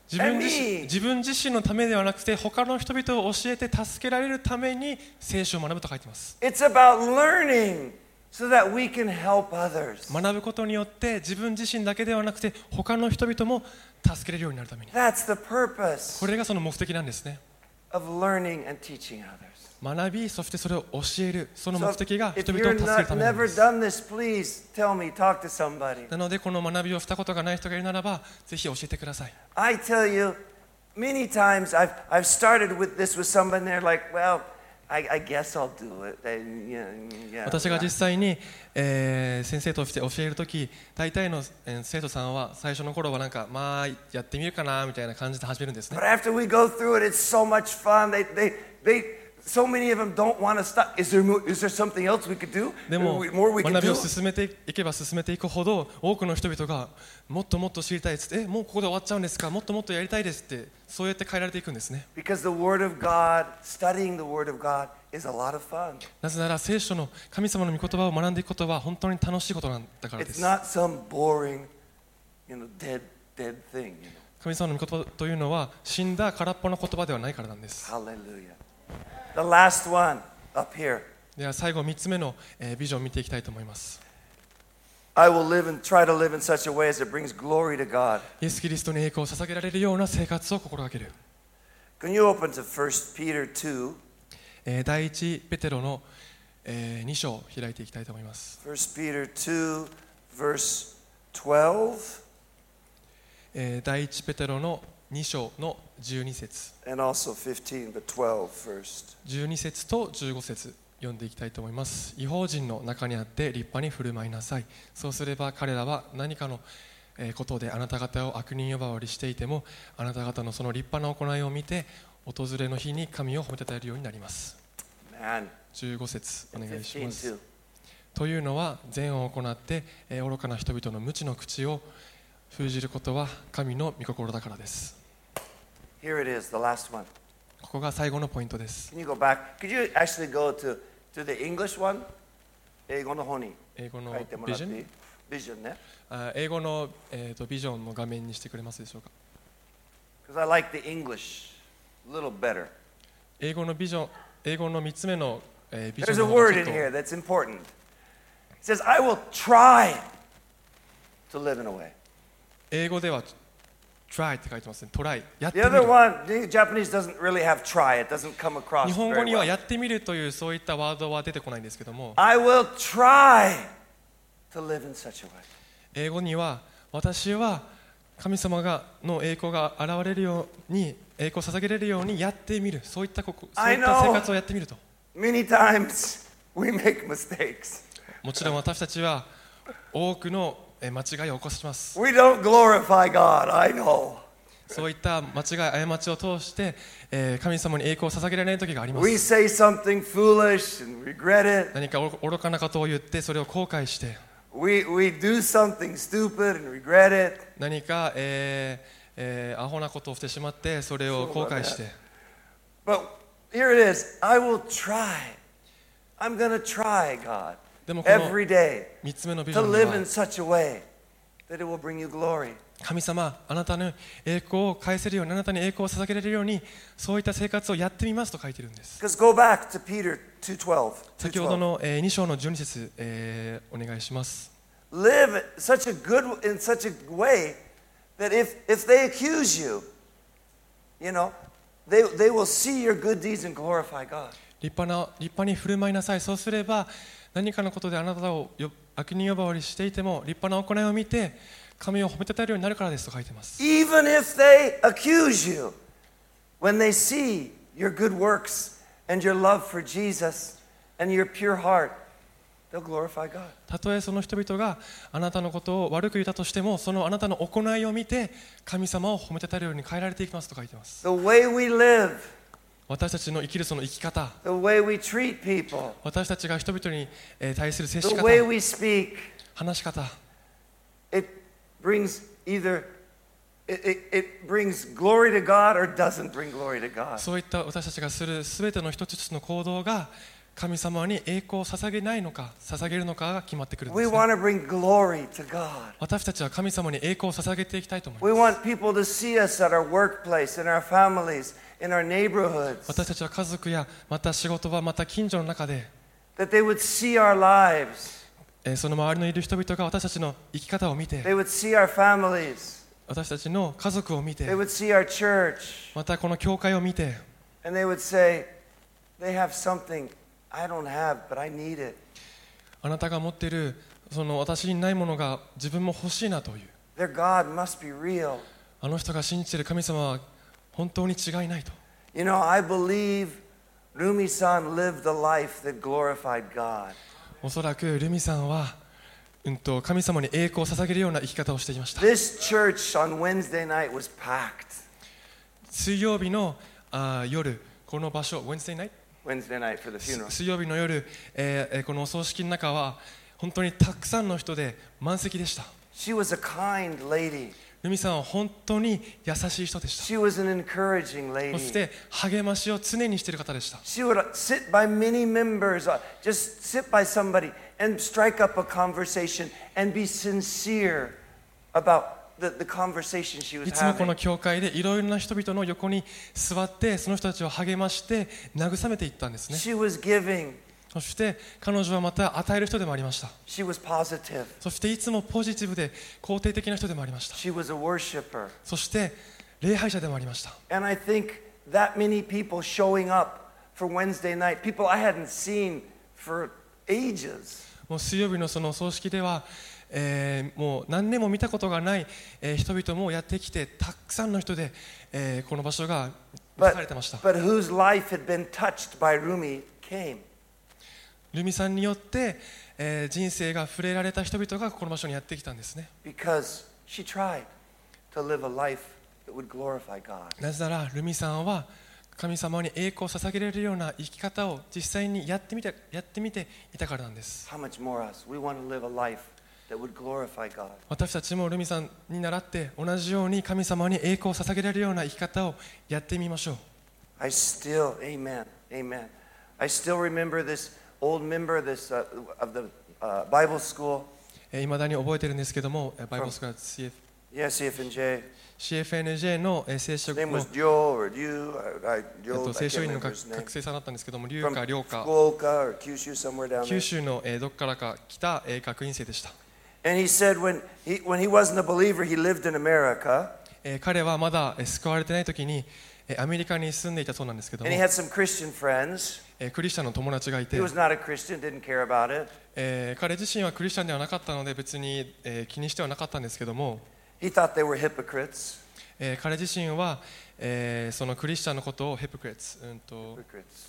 自分 and 自身 me. 自分自身のためではなくて他の人々を教えて助けられるために聖書を学ぶと書いています。 It's about learning so that we can help others. 学ぶことによって自分自身だけではなくて他の人々も助けれるようになるために、 That's the purpose これがその目的なんですね。 of learning and teaching others. 学び、そしてそれを教える、その So 目的が if 人々を you're 助ける not ためなん never です。 done this, please tell me, talk to somebody. なのでこの学びをしたことがない人がいるならばぜひ教えてください。 I tell you, many times I've I've started with this with somebody and they're like, well, I, I guess I'll do it. And, yeah, yeah, 私が yeah. 実際に、えー先生として教えるとき、大体の、えー生徒さんは最初の頃はなんかまあやってみるかなみたいな感じで始めるんですね。 But after we go through it, it's so much fun. They they they so many of them don't want to stop. Is there mo- is there something else we could do? でも More we can 学び do? を進めていけば進めていくほど多くの人々がもっともっと知りたいですって、えもうここで終わっちゃうんですか、もっともっとやりたいですって、そうやって変えられていくんですね。 Because the Word of God, studying the Word of God, is a lot of fun. なぜなら聖書の神様の御言葉を学んでいくことは本当に楽しいことなんだからで It's す。 not some boring, you know, dead dead thing. You know. 神様の御言葉というのは死んだ空っぽの言葉ではないからなんです。 Hallelujah. The last one up here. では最後みっつめの、えービジョンを見ていきたいと思います。 I will live and try to live in such a way as it brings glory to God. イエス・キリストに栄光を捧げられるような生活を心がける。 Can you open to First Peter two? えー第一ペテロの、えーに章を開いていきたいと思います。 First Peter two, verse twelve, えー第一ペテロのに章のじゅうに節、 and also fifteen, but twelve first. じゅうに節とじゅうご節読んでいきたいと思います。異邦人の中にあって立派に振る舞いなさい。そうすれば彼らは何かのえーことであなた方を悪人呼ばわりしていても、あなた方のその立派な行いを見て訪れの日に神を褒めたたえるようになります。 Man, じゅうご節お and 願いし fifteen ます。 too. というのは善を行ってえー愚かな人々の無知の口を封じることは神の御心だからです。 Here it is, the last one. ここが最後のポイントです。 Can you go back? Could you actually go to, to the English one? 英語の方に英語の書いてもビジョンらっていい？ビジョンね。 あ英語の、えーとビジョンの画面にしてくれますでしょうか。 Because I like the English a little better. 英語のビジョン、英語のみっつめの、えービジョ There's ン a の方が word ちょ in っと here that's important. It says, I will try to live in a way. 英語では try って書いてますね。トライ、やって The み other る。 one, the Japanese doesn't really have try. It doesn't come across 日本語 very には well. やってみるというそういったワードは出てこないんですけども、 I will try to live in such a way. 英語には私は神様がの栄光が現れるように、栄光を捧げれるようにやってみる、そういったここそういった生活をやってみると。 Many times we make mistakes. もちろん私たちは多くのえー間違いを起こします。 We don't glorify God, I know. そういった間違い、過ちを通して、えー神様に栄光を捧げられない時がありま We す。 say something foolish and regret it. 何か愚かなことを言ってそれを後悔して、 We, we do something stupid and regret it. 何か、えーえーアホなことをしてしまってそれを後悔して、 But here it is. I will try. I'm going to try, God, でもこの every day みっつめのビジョ to ンに live は in such a way that it will bring you glory. 神様、あなたの栄光を返せるように、あなたに栄光を捧げられるように、そういった生活をやってみますと書いてるんです。 Because go back to Peter two twelve. 先ほどの、えーに章のじゅうに節、えーお願いします。 Live such a good in such a way that if if they accuse you, you know, they they will see your good deeds and glorify God. 立派な立派に振る舞いなさい。そうすれば何かのことであなたをよ悪人呼ばわりしていても立派な行いを見て神を褒めたたえるようになるからですと書いています。 Even if they accuse you, when they see your good works and your love for Jesus and your pure heart, they'll glorify God. たとえその人々があなたのことを悪く言ったとしても、そのあなたの行いを見て神様を褒めたたえるように変えられていきますと書いています。 The way we live, 私たちの生きるその生き方、 the way we treat people, 私たちが人々にえー対する接 the し方、 way we speak, 話し方、 it brings either it, it, it brings glory to God or doesn't bring glory to God. そういった私たちがするすべての一つ一つの行動が神様に栄光を捧げないのか捧げるのかが決まってくるんで We す、ね、 want to bring glory to God. 私たちは神様に栄光を捧げていきたいと思い We ます。 want people to see us at our workplace, in our families, in our neighborhoods. 私たちは家族やまた仕事場また近所の中で、 That they would see our lives. えーその周りのいる人々が私たちの生き方を見て、 They would see our families. 私たちの家族を見て、 They would see our church. またこの教会を見て、 And they would say, they have something I don't have, but I need it. あなたが持っているその私にないものが自分も欲しいなという、 Their God must be real. あの人が信じている神様は本当に違いないと。 You know, I believe Rumi-san lived a life that glorified God. おそらくルミさんは、うんと、神様に栄光を捧げるような生き方をしていました。 This church on Wednesday night was packed. 水曜日のあ夜、この場所、Wednesday night? Wednesday night for the funeral. 水曜日の夜、えーえーこのお葬式の中は本当にたくさんの人で満席でした。 She was a kind lady. ルミさんは本当に優しい人でした。 She was an encouraging そし lady. て励ましを常にしている方でした。 She would sit by many members, uh, just sit by somebody and strike up a conversation and be sincere about the, the conversation she was いつもこの having. 教会でいろいろな人々の横に座ってその人たちを励まして慰めていったんですね。 She was giving. そして彼女はまた与える人でもありました。 She was positive. そしていつもポジティブで肯定的な人でもありました。 She was a worshiper. そして礼拝者でもありました。 And I think that many people showing up for Wednesday night, people I hadn't seen for ages. もう水曜日のその葬式では、えーもう何年も見たことがない、えー人々もやってきて、たくさんの人で、えーこの場所が満たされてました。 But whose life had been touched by Rumi came. ルミさんによって、えー人生が触れられた人々がこの場所にやってきたんですね。 Because she tried to live a life that would glorify God. なぜならルミさんは神様に栄光を捧げられるような生き方を実際にやってみて、やってみていたからなんです。 How much more us? We want to live a life that would glorify God. 私たちもルミさんに倣って同じように神様に栄光を捧げられるような生き方をやってみましょう。 I still, amen, amen. I still remember this old member this, uh, of the uh, Bible school. いまだに覚えてるんですけども、バイブルスクール シーエフ Yeah, C F N J. シーエフエヌジェー のえー聖書 His name の was Joe or Liu. I, I, えっ Joe, と I 聖書 can't 院の remember 学 his name. 学生さんだったんですけども、龍 From か寮か Fukuoka or Kyushu, somewhere down 九 there. 州のえーどこからか来たえー学院生でした。 And he said when he, when he wasn't a believer, he lived in America. えー彼はまだえー救われてない時にえーアメリカに住んでいたそうなんですけども、 And he had some Christian friends. えークリスチャンの友達がいて He、was not a Christian, didn't care about it. えー彼自身はクリスチャンではなかったので別にえー気にしてはなかったんですけども、 He thought they were hypocrites. えー彼自身はえーそのクリスチャンのことをヘプクレッツ、うんと Hypocrites.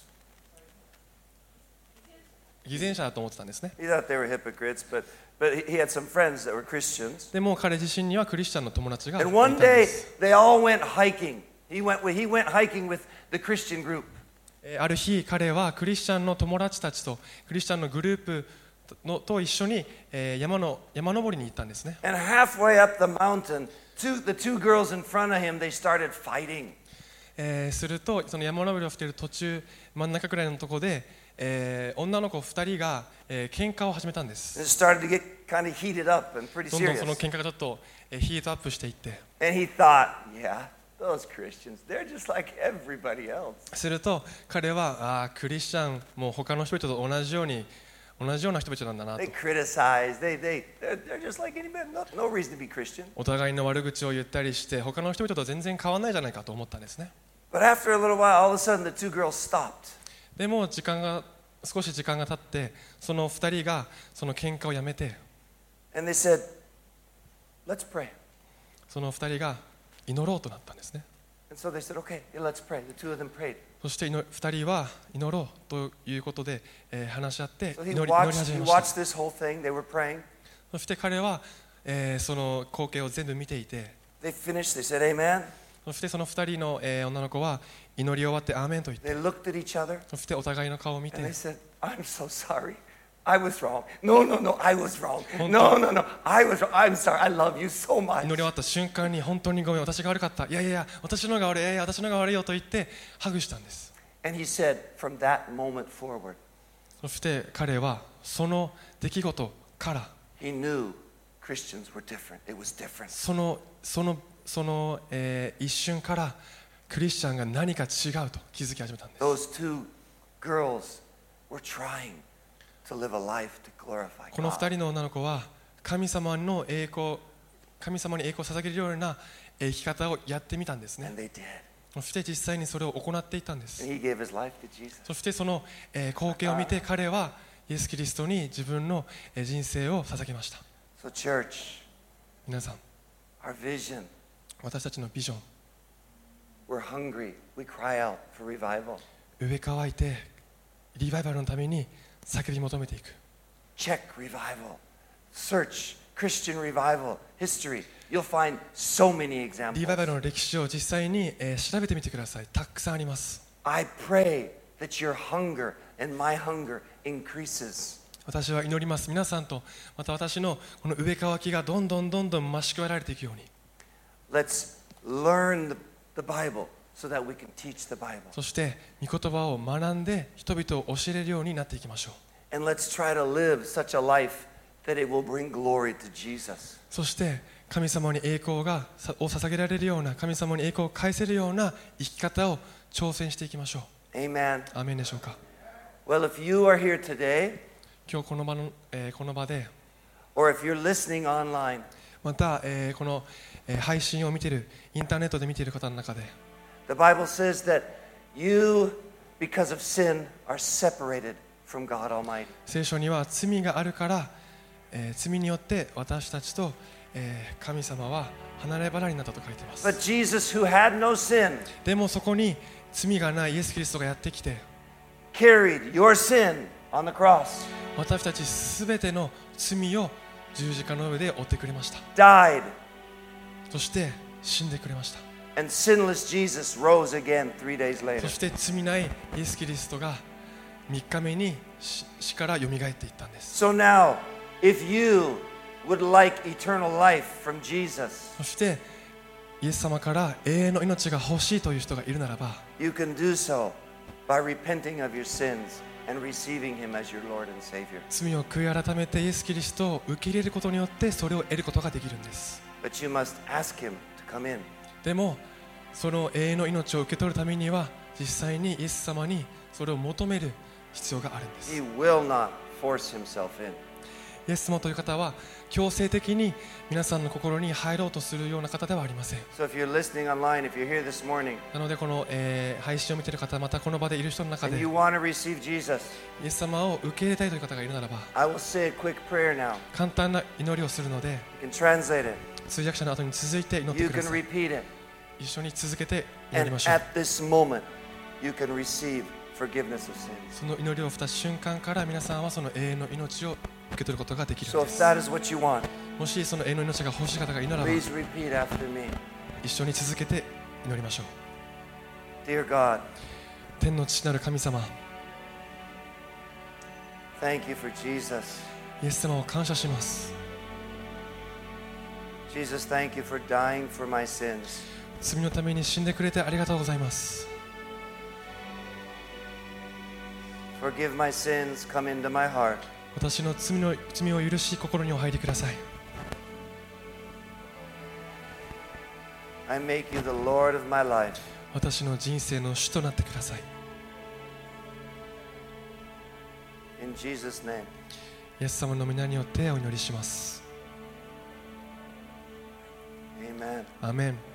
偽善者だと思ってたんですね。 He thought they were hypocrites, but but he he had some friends that were Christians. でも彼自身にはクリスチャンの友達がいた And ん one で day す。 they all went hiking. He went with, he went hiking with the Christian group. えーある日彼はクリスチャンの友達たちとクリスチャンのグループのと一緒に、えー山の山登りに行ったんですね。 And halfway up the mountain, two, the two girls in front of him, they started fighting. えーするとその山登りをしている途中真ん中くらいのところで、えー女の子ふたりが、えー喧嘩を始めたんで And す。 it started to get kind of heated up and pretty どんどんその serious. 喧嘩がちょっと、えーヒートアップしていって、 And he thought, yeah, those Christians, they're just like everybody else. すると彼はあークリスチャンもう他の人々と同じように同じような人々なんだなと They criticize, they, they, they're, they're just like anybody, no, no reason to be Christian. お互いの悪口を言ったりして他の人々と全然変わらないじゃないかと思ったんですね。 But after a little while, all of a sudden the two girls stopped. でも時間が少し時間が経ってそのふたりがその喧嘩をやめて And they said, let's pray. そのふたりが祈ろうとなったんですね。 And so they said, okay, yeah, let's pray. The two of them prayed. そしてふたりは祈ろうということで、えー話し合って So 祈 he り祈り watched, 始 he めました。 watched this whole thing. They were praying. そして彼は、えーその光景を全部見ていて They finished. They said, amen. そしてそのふたりの、えー女の子は祈り終わってアーメンと言って They looked at each other そしてお互いの顔を見て and they said, I'm so sorry. I was wrong. No, no, no, I was wrong. 本当。 No, no, no, I was wrong. I'm sorry. I love you so 祈 much. り終わった瞬間に本当にごめん私が悪かったいやいやいや私のが悪いいやいや私のが悪いよと言ってハグしたんです。 And he said, from that moment forward, そして彼はその出来事から he knew Christians were different. It was different. そのそのその、えー、一瞬からクリスチャンが何か違うと気づき始めたんです。 Those two girls were trying to live a life to glorify この God. 二人の女の子は神様の栄光、神様に栄光を捧げるような生き方をやってみたんですね。 And they did. そして実際にそれを行っていったんです。 And he gave his life to Jesus. そしてその、えー、光景を見て彼はイエス・キリストに自分のえー人生を捧げました。 So church, 皆さん、 our vision, 私たちのビジョン、 we're hungry. We cry out for revival. 植え乾いてリバイバルのために叫び求めていく。 Check revival. Search Christian revival history. You'll find so many リ examples. バイバルの歴史を実際に、えー調べてみてください。たくさんあります。 I pray that your hunger and my hunger increases. 私は祈ります。皆さんとまた私のこの植え乾きがどんどんどんどん増し加えられていくように。 Let's learn the, the Bible so that we can teach the Bible. そして御言葉を学んで人々を教えれるようになっていきましょう。 And let's try to live such a life that it will bring glory to Jesus. そして神様に栄光がさを捧げられるような、神様に栄光を返せるような生き方を挑戦していきましょう。 Amen. アーメンでしょうか。 Well, if you are here today, 今日この場の、えーこの場で or if you're listening online, また、えーこの、えー配信を見ている、インターネットで見ている方の中で the Bible says that you, because of sin, are separated from God Almighty. 聖書には罪があるから、えー罪によって私たちと、えー神様は離れ離れになったと書いています。 But Jesus, who had no sin, でもそこに罪がないイエス・キリストがやってきて carried your sin on the cross, 私たちすべての罪を十字架の上で負ってくれました。 died, そして死んでくれました。 and sinless Jesus rose again three days そ later. して罪ないイエス・キリストがみっかめに死死からよみがえっていったんです。 So now, if you would like eternal life from Jesus, そしてイエス様から永遠の命が欲しいという人がいるならば you can do so by repenting of your sins and receiving Him as your Lord and Savior. 罪を悔い改めてイエス・キリストを受け入れることによってそれを得ることができるんです。 But you must ask Him to come in. でもその永遠の命を受け取るためには実際にイエス様にそれを求める必要があるんです。 He will not force Himself in. イエス様という方は強制的に皆さんの心に入ろうとするような方ではありません。 So if you're listening online, if you're here this morning なのでこの、えー配信を見ている方、またこの場でいる人の中 and で you イ want to receive Jesus, エス様を受け入れたいという方がいるならば I will say a quick prayer now. 簡単な祈りをするので You can translate it. 通訳者の後に続いて祈って You くだ can さい。 repeat it. 一緒に続けて祈 And りましょう。 at this moment, you can receive forgiveness of sins. その祈りをした瞬間から皆さんはその永遠の命を受け取ることができるん So で if す。 that is what you want, もしその永遠の命が欲しい方がいるならば please repeat after me. 一緒に続けて祈りましょう。 Dear God, 天の父なる神様、 thank you for Jesus. イエス様を感謝します。 Jesus, thank you for dying for my sins. 罪のために死んでくれてありがとうございます。 Forgive my sins, come into my heart. 私の罪の罪を許し心にお入りください。 I make you the Lord of my life. 私の人生の主となってください。 In Jesus' name, イエス様の皆によってお祈りします。 amen. アーメン。